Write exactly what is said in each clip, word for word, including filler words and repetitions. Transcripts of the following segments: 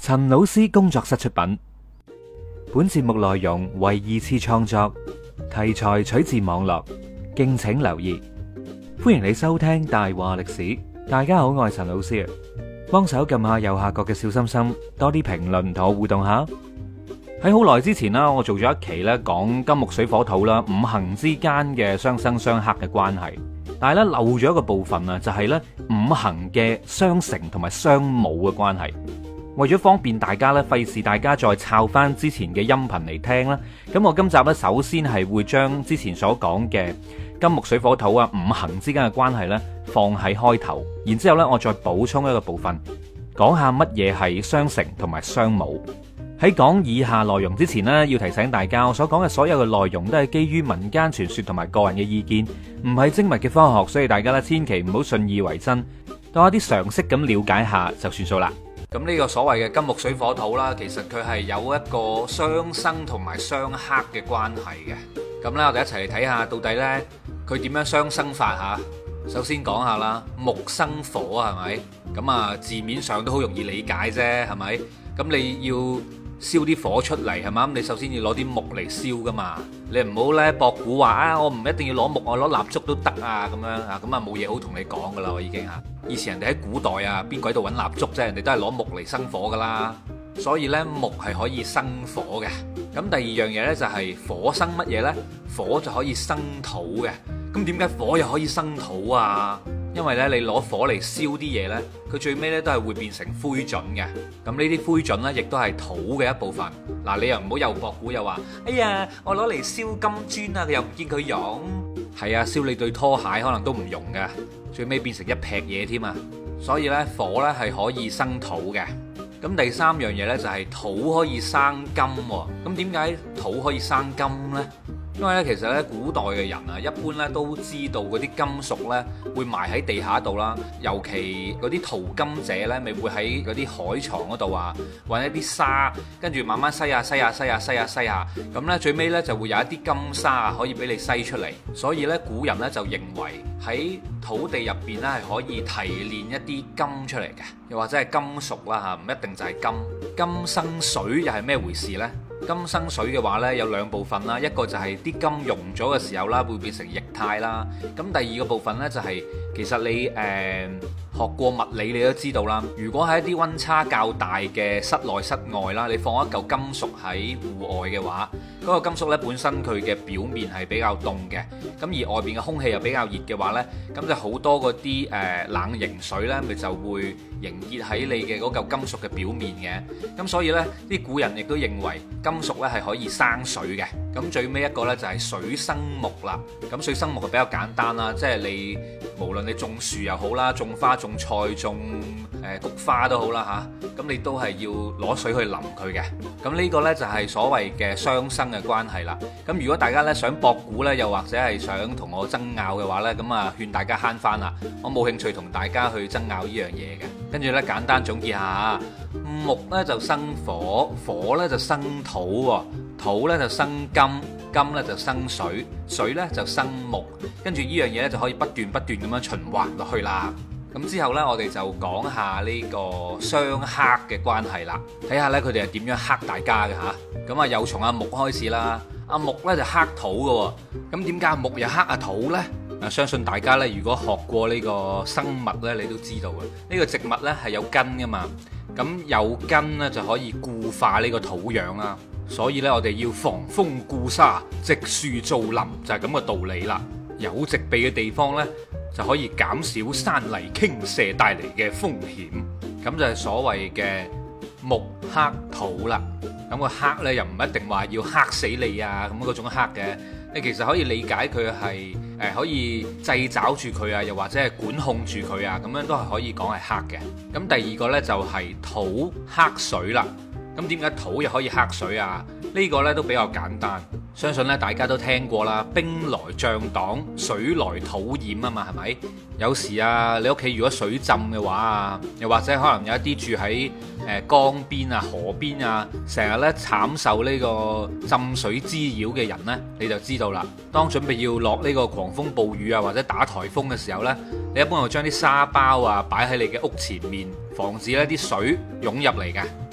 陳老師工作室出品，本節目內容為二次創作，題材取自網絡，敬請留意。歡迎你收聽大話歷史。大家好，我係陳老師，幫手撳下右下角嘅小心心，多啲評論同我互動下。喺好耐之前啦，我做咗一期咧講金木水火土啦，五行之間嘅相生相克嘅關係，但係咧漏咗一個部分啊，就係咧五行嘅相乘同埋相侮嘅關係。為咗方便大家咧，費事大家再抄翻之前嘅音頻嚟聽啦，咁我今集咧首先係會將之前所講嘅金木水火土啊五行之間嘅關係咧放喺開頭，然之後咧我再補充一個部分，講下乜嘢係相乘同埋相侮。喺講以下內容之前呢，要提醒大家，我所講嘅所有嘅內容都係基於民間傳說同埋個人嘅意見，唔係精密嘅科學，所以大家咧千祈唔好信以為真，當一啲常識咁了解下就算數啦。咁呢個所謂嘅金木水火土啦，其實佢係有一個相生同埋相克嘅關係嘅。咁咧，我哋一齊嚟睇下到底呢，佢點樣相生法吓。首先講下啦，木生火係咪？咁啊字面上都好容易理解啫，係咪？咁你要燒啲火出嚟係嘛？咁你首先要攞啲木嚟燒噶嘛。你唔好咧博古話啊，我唔一定要攞木，我攞蠟燭都得啊咁樣啊，咁啊冇嘢好同你講噶啦，我已經嚇。以前人哋喺古代啊，邊鬼度揾蠟燭啫？人哋都係攞木嚟生火噶啦。所以咧木係可以生火嘅。咁第二樣嘢咧就係火生乜嘢咧？火就可以生土嘅。咁點解火又可以生土啊？因為咧，你攞火嚟燒啲嘢呢，佢最尾咧都係會變成灰燼嘅。咁呢啲灰燼呢，亦都係土嘅一部分。嗱，你又唔好又博古又話，哎呀，我攞嚟燒金磚啊，佢又唔見佢用。係啊，燒你對拖鞋可能都唔用嘅，最尾變成一劈嘢添啊。所以呢，火呢係可以生土嘅。咁第三樣嘢呢，就係土可以生金喎。咁點解土可以生金呢？因為咧，其實咧，古代嘅人啊，一般咧都知道嗰啲金屬咧會埋喺地下度啦。尤其嗰啲淘金者咧，咪會喺嗰啲海床嗰度啊，揾一啲沙，跟住慢慢篩下篩下篩下篩下篩下，咁咧最尾咧就會有一啲金沙啊，可以俾你篩出嚟。所以咧，古人咧就認為喺土地入邊咧係可以提煉一啲金出嚟嘅，又或者係金屬啦嚇，唔一定就係金。金生水又係咩回事呢？金生水嘅話呢，有兩部分啦，一個就係啲金溶咗嘅時候啦，會變成液態啦。咁第二個部分呢，就係其實你誒、呃、學過物理，你都知道啦。如果喺一啲溫差較大嘅室內室外啦，你放一嚿金屬喺戶外嘅話，嗰、嗰個金屬呢本身佢嘅表面係比較凍嘅，咁而外邊嘅空氣又比較熱嘅話呢，咁就好多嗰啲誒冷凝水呢，咪就會凝結喺你嘅嗰嚿金屬嘅表面嘅。咁所以呢，啲古人亦都認為金屬咧係可以生水嘅。咁最尾一個呢，就係水生木啦。咁水生木係比較簡單啦，即係你無論你種樹又好啦，種花種菜種誒菊花都好啦嚇，咁你都係要攞水去淋佢嘅。咁呢個呢，就係所謂嘅相生嘅關係啦。咁如果大家呢想博古呢，又或者係想同我爭拗嘅話呢，咁啊勸大家慳翻啦，我冇興趣同大家去爭拗呢樣嘢嘅。跟住呢，簡單總結下，木呢就生火，火呢就生土，土呢就生金，金呢就生水，水呢就生木，跟住呢樣嘢呢就可以不斷不斷咁樣循環落去啦。咁之後呢，我哋就講下呢個相克嘅關係啦，睇下呢，佢哋係點樣克大家嘅吓。咁啊，又從阿木開始啦，阿木呢就克土嘅，咁點解阿木又克阿土呢？啊，相信大家呢，如果學過呢個生物呢，你都知道嘅。呢個植物呢係有根噶嘛，咁有根呢就可以固化呢個土壤啦。所以呢，我哋要防風固沙，植樹造林，就係咁嘅道理啦。有植被嘅地方呢，就可以減少山泥傾瀉帶嚟嘅風險。咁就係所謂嘅木克土啦。咁個克呢，又唔一定話要克死你啊，咁嗰種克嘅。你其實可以理解佢係誒可以掣肘住佢啊，又或者係管控住佢啊，咁樣都係可以講係克嘅。咁第二個呢，就係土克水啦。咁點解土又可以克水啊？呢個呢都比較簡單，相信咧大家都聽過啦。兵來將擋，水來土掩啊嘛，係咪？有時啊，你屋企如果水浸嘅話啊，又或者可能有一啲住喺誒江邊啊、河邊啊，成日咧慘受呢個浸水滋擾嘅人呢，你就知道啦。當準備要落呢個狂風暴雨啊，或者打颱風嘅時候呢，你一般會將啲沙包啊擺喺你嘅屋前面，防止呢啲水湧入嚟嘅。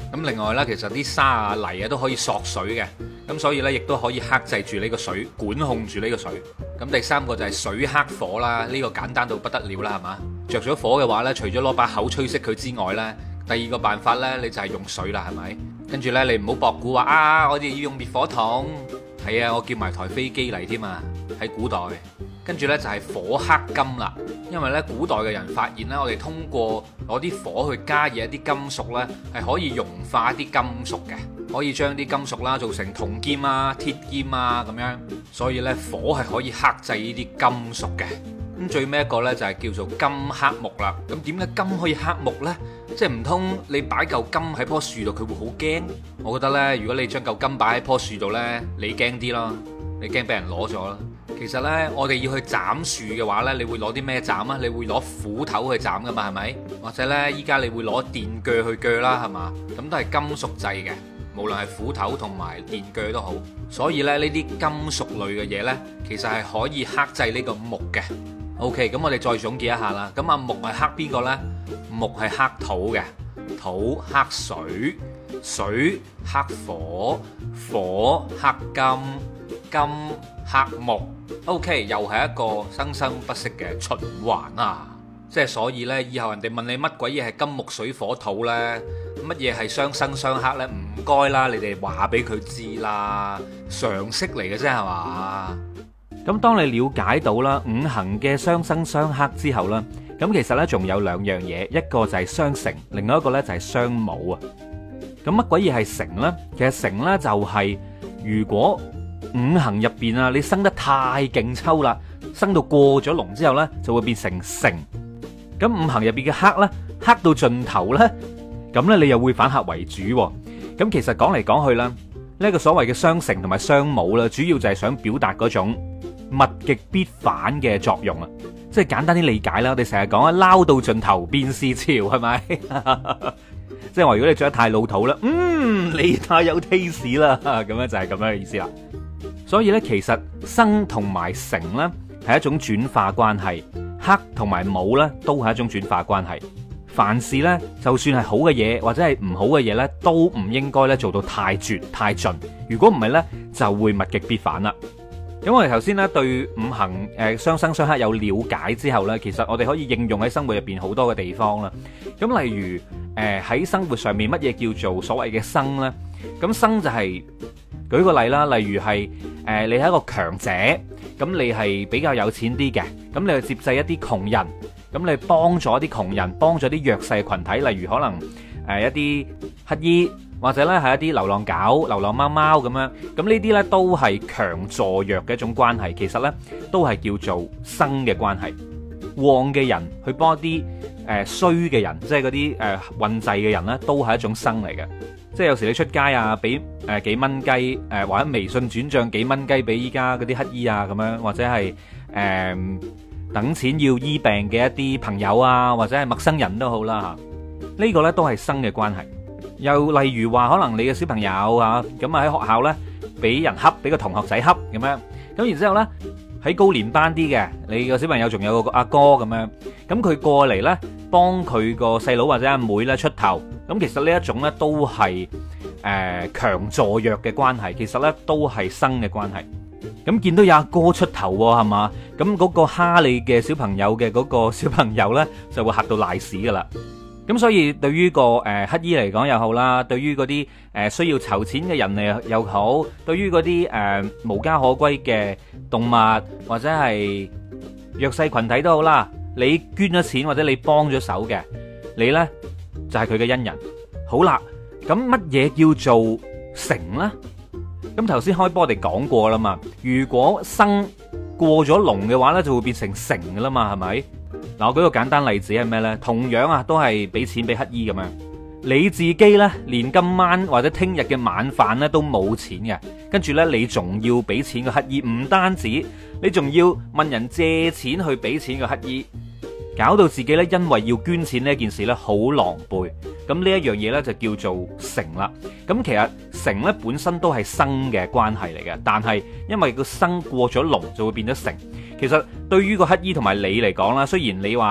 咁另外啦，其實啲沙啊泥啊都可以索水嘅，咁所以呢，亦都可以克制住呢個水，管控住呢個水。咁第三個就係水克火啦，呢個簡單到不得了啦，係嘛？着咗火嘅話呢，除咗攞把口吹熄佢之外呢，第二個辦法呢，你就係用水啦，係咪？跟住呢，你唔好博古話啊，我哋要用滅火筒。係啊，我叫埋台飛機嚟添啊，喺古代。跟住呢，就係火克金啦，因為呢，古代嘅人發現呢，我哋通過攞啲火去加熱一啲金屬呢，係可以融化一啲金屬嘅，可以將啲金屬啦做成銅劍啊、鐵劍啊咁樣。所以呢，火係可以克制呢啲金屬嘅。咁最尾一個呢，就係叫做金克木啦。咁點解金可以克木呢？即係唔通你擺嚿金喺棵樹度，佢會好驚？我覺得呢，如果你將嚿金擺喺棵樹度呢，你驚啲咯，你驚俾人攞咗咯。其實呢，我哋要去斬樹嘅話呢，你會攞啲咩斬啊？你會攞斧頭去斬噶嘛，係咪？或者呢，依家你會攞電鋸去鋸啦，係嘛？咁都係金屬製嘅，無論係斧頭同埋電鋸都好。所以咧，呢啲金屬類嘅嘢呢，其實係可以克制呢個木嘅。OK，咁我哋再總結一下啦。咁啊，木係克邊個呢？木係克土嘅，土克水，水克火，火克金，金克木。OK，又係一個生生不息嘅循環啊！即係所以呢，以後人哋問你乜鬼嘢係金木水火土呢？乜嘢係相生相克呢？唔該啦，你哋話俾佢知啦，常識嚟嘅啫係嘛？ 咁當你了解到啦五行嘅相生相克之後啦，咁其實呢仲有兩樣嘢，一個就係相乘，另外一個呢就係相侮啊。咁乜鬼嘢係乘呢？其實乘呢就係如果五行入邊啊，你生得太勁抽啦，生到過咗龍之後呢，就會變成乘。咁五行入邊嘅克呢，克到盡頭呢，咁呢你又會反客為主。咁其實講嚟講去啦，呢個所謂嘅相乘同埋相侮啦，主要就係想表達嗰種物極必反嘅作用啊。即係簡單啲理解啦，我哋成日講啊，撈到盡頭變是潮，係咪？即係話如果你着得太老土啦，嗯，你太有 taste 啦，咁樣就係咁樣嘅意思啦。所以咧，其實生同埋乘咧係一種轉化關係，克同埋侮咧都係一種轉化關係。凡事咧，就算係好嘅嘢或者係唔好嘅嘢咧，都唔應該咧做到太絕太盡。如果唔係咧，就會物極必反啦。咁我哋頭先咧對五行誒相生相克有了解之後咧，其實我哋可以應用喺生活入邊好多嘅地方啦。咁例如誒喺、呃、生活上面乜嘢叫做所謂嘅生咧？咁生就係、是、舉個例啦，例如係誒、呃、你係一個強者，咁你係比較有錢啲嘅，咁你去接濟一啲窮人，咁你幫咗啲窮人，幫咗啲弱勢群體，例如可能誒、呃、一啲乞衣。或者咧係一啲流浪狗、流浪貓貓咁樣，咁呢啲呢都係強助弱嘅一種關係，其實呢都係叫做生嘅關係。旺嘅人去幫一啲誒衰嘅人，即係嗰啲誒運滯嘅人呢，都係一種生嚟嘅。即係有時你出街啊，俾誒幾蚊雞，誒或者微信轉賬幾蚊雞俾依家嗰啲乞衣啊咁樣，或者係誒、呃、等錢要醫病嘅一啲朋友啊，或者係陌生人都好啦嚇，呢個呢都係生嘅關係。又例如話，可能你嘅小朋友啊，咁啊喺學校呢，俾人恰，俾個同學仔恰咁樣，咁然之後呢，喺高年班啲嘅，你個小朋友仲有個阿哥咁樣，咁佢過嚟呢，幫佢個細佬或者阿妹呢出頭，咁其實呢一種呢，都係誒強助弱嘅關係，其實呢，都係生嘅關係。咁見到有阿哥出頭喎，係嘛？咁嗰個蝦你嘅小朋友嘅嗰個小朋友呢，就會嚇到賴屎噶啦。咁所以對於個誒乞衣嚟講又好啦，對於嗰啲誒需要籌錢嘅人嚟又好，對於嗰啲誒無家可歸嘅動物或者係弱勢群體都好啦，你捐咗錢或者你幫咗手嘅，你呢就係佢嘅恩人。好啦，咁乜嘢叫做乘呢？咁頭先開波我哋講過啦嘛，如果生過咗龍嘅話呢，就會變成乘噶啦嘛，係咪？嗱，我舉個簡單例子係咩呢？同樣啊，都係俾錢俾乞衣咁樣，你自己呢，連今晚或者聽日嘅晚飯呢都冇錢嘅，跟住呢，你仲要俾錢個乞衣，唔單止，你仲要問人借錢去俾錢個乞衣，搞到自己呢，因為要捐錢呢件事呢，好狼狽。咁呢一樣嘢呢，就叫做乘啦。咁其實乘呢本身都係生嘅關係嚟嘅，但係因為個生過咗龍就會變咗乘。其實對於個乞衣同埋你嚟講啦，雖然你話誒、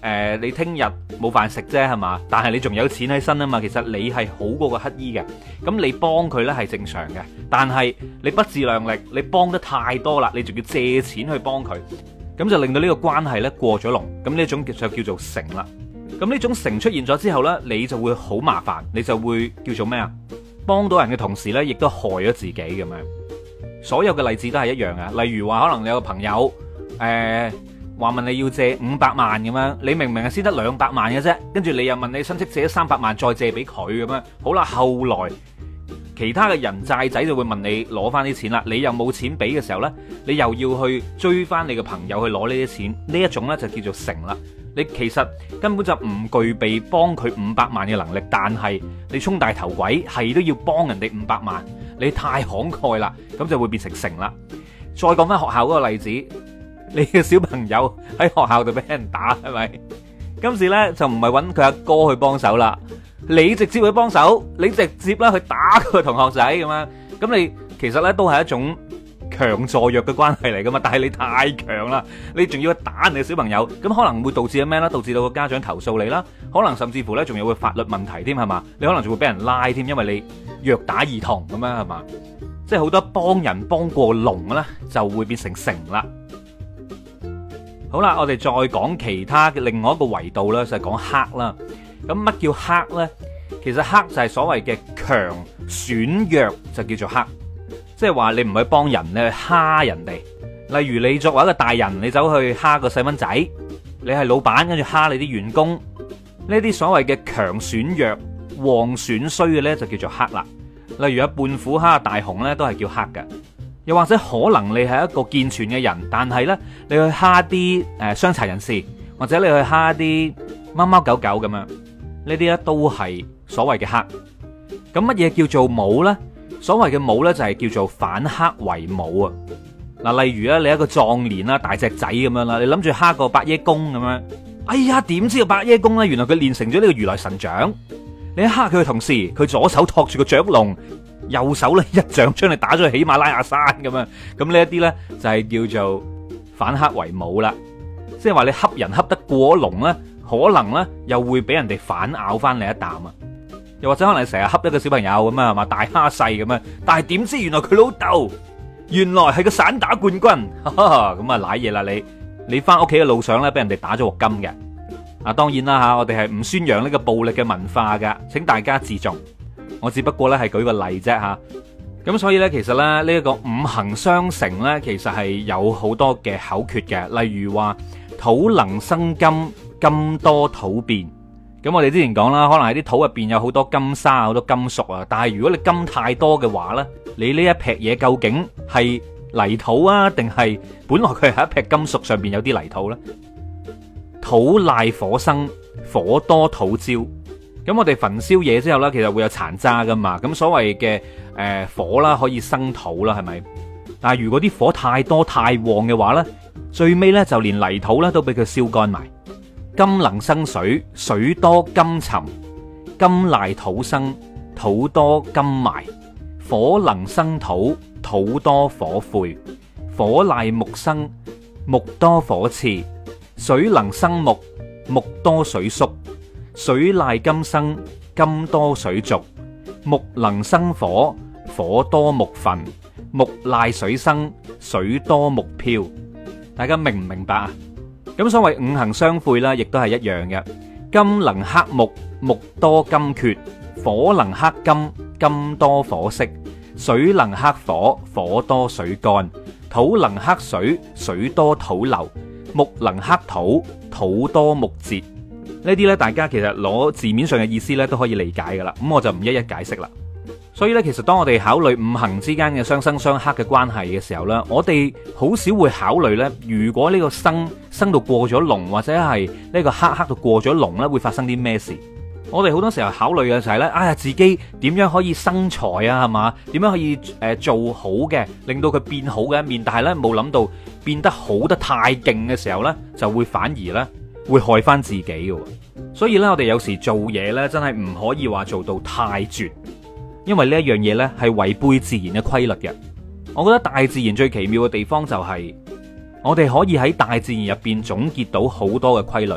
呃、你聽日冇飯食啫係嘛，但係你仲有錢喺身啊嘛，其實你係好過個乞衣嘅，咁你幫佢呢係正常嘅，但係你不自量力，你幫得太多啦，你仲要借錢去幫佢，咁就令到呢個關係呢過咗龍，咁呢種就叫做成啦。咁呢種成出現咗之後呢，你就會好麻煩，你就會叫做咩啊？幫到人嘅同時呢，亦都害咗自己咁樣。所有嘅例子都係一樣嘅，例如話可能你有個朋友誒話問你要借五百萬咁樣，你明明係先得兩百萬嘅啫，跟住你又問你親戚借咗三百萬再借俾佢咁樣，好啦，後來其他嘅人債仔就會問你攞翻啲錢啦，你又冇錢俾嘅時候呢，你又要去追翻你嘅朋友去攞呢啲錢，呢一種呢就叫做成啦。你其實根本就唔具備幫佢五百萬嘅能力，但係你充大頭鬼係都要幫人哋五百萬，你太慷慨啦，咁就會變成成啦。再講翻學校嗰個例子，你嘅小朋友喺學校度俾人打係咪？今次呢，就唔係揾佢阿哥去幫手啦，你直接去幫手，你直接啦去打佢同學仔咁樣，咁你其實呢都係一種強助弱嘅關係嚟噶嘛，但係你太強啦，你仲要打人哋小朋友，咁可能會導致咩咧？導致到個家長投訴你啦，可能甚至乎咧仲有個法律問題添係嘛？你可能仲會俾人拉添，因為你虐打兒童咁樣係嘛？即係好多幫人幫過龍咧，就會變成成啦。好啦，我哋再講其他嘅另外一個維度啦，就係講黑啦。咁乜叫黑咧？其實黑就係所謂嘅強損弱，就叫做黑。即係話你唔去幫人，你去蝦人哋。例如你作為一個大人，你走去蝦個細蚊仔，你係老闆，跟住蝦你啲員工，呢啲所謂嘅強損弱、旺損衰嘅呢，就叫做黑啦。例如有胖虎蝦大雄呢，都係叫黑嘅。又或者可能你係一個健全嘅人，但係呢，你去蝦啲誒傷殘人士，或者你去蝦啲貓貓狗狗咁樣，呢啲呢都係所謂嘅黑。咁乜嘢叫做武呢？所謂嘅武呢，就係叫做反黑為武啊！嗱，例如咧你一個壯年啦，大隻仔咁樣啦，你諗住蝦個八爺公咁樣，哎呀，點知個八爺公呢？原來佢練成咗呢個如來神掌。你一蝦佢嘅同時，佢左手托住個雀籠，右手咧一掌將你打咗去喜馬拉雅山咁樣。咁呢一啲呢，就係叫做反黑為武啦。即係話你恰人恰得過龍呢，可能呢又會俾人哋反咬翻你一啖啊！又或者可能成日恰一個小朋友咁啊，係嘛，大蝦細咁樣，但係點知原來佢老豆原來係個散打冠軍，咁啊瀨嘢啦你！你翻屋企嘅路上咧，俾人哋打咗鑊金嘅。啊，當然啦吓，我哋係唔宣揚呢個暴力嘅文化噶，請大家自重。我只不過咧係舉個例啫吓。咁所以咧，其實咧呢一個五行相乘咧，其實係有好多嘅口訣嘅，例如話土能生金，金多土變。咁我哋之前講啦，可能喺啲土入邊有好多金沙、好多金屬啊。但係如果你金太多嘅話呢，你呢一撇嘢究竟係泥土啊，定係本來佢係一撇金屬上邊有啲泥土呢？土賴火生，火多土焦。咁我哋焚燒嘢之後呢，其實會有殘渣噶嘛。咁所謂嘅誒火啦，可以生土啦，係咪？但係如果啲火太多太旺嘅話呢，最尾呢就連泥土呢都俾佢燒乾埋。金能生水，水多金沉；金賴土生，土多金埋。火能生土，土多火晦；火賴木生，木多火熾；水能生木，木多水縮；水賴金生，金多水濁；木能生火，火多木焚；木賴水生，水多木漂。大家明唔明白啊？咁所謂五行相晦啦，亦都係一樣嘅。金能克木，木多金缺；火能克金，金多火熄；水能克火，火多水乾；土能克水，水多土流；木能克土，土多木折。呢啲咧，大家其實攞字面上嘅意思咧都可以理解噶啦。咁我就唔一一解釋啦。所以咧，其實當我哋考慮五行之間嘅相生相克嘅關係嘅時候咧，我哋好少會考慮咧，如果呢個生生到過咗龍，或者係呢個克克到過咗龍咧，會發生啲咩事？我哋好多時候考慮嘅就係咧，哎呀，自己點樣可以生財啊，係嘛？點樣可以誒做好嘅，令到佢變好嘅一面？但係咧冇諗到變得好得太勁嘅時候咧，就會反而咧會害翻自己嘅。所以咧，我哋有時做嘢咧，真係唔可以話做到太絕。因為呢一樣嘢呢係違背自然嘅規律嘅。我覺得大自然最奇妙嘅地方就係，我哋可以喺大自然入邊總結到好多嘅規律，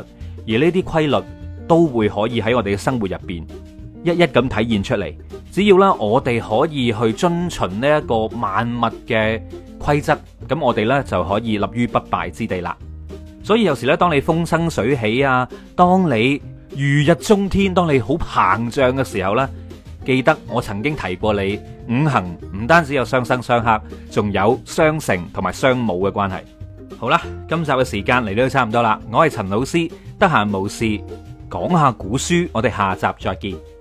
而呢啲規律都會可以喺我哋嘅生活入邊一一咁體現出嚟。只要啦，我哋可以去遵循呢一個萬物嘅規則，咁我哋呢就可以立於不敗之地啦。所以有時咧，當你風生水起啊，當你如日中天，當你好膨脹嘅時候呢，記得我曾經提過你，五行唔單止有相生相克，仲有相乘同埋相侮嘅關係。好啦，今集嘅時間嚟到都差唔多啦，我係陳老師，得閒無事講下古書，我哋下集再見。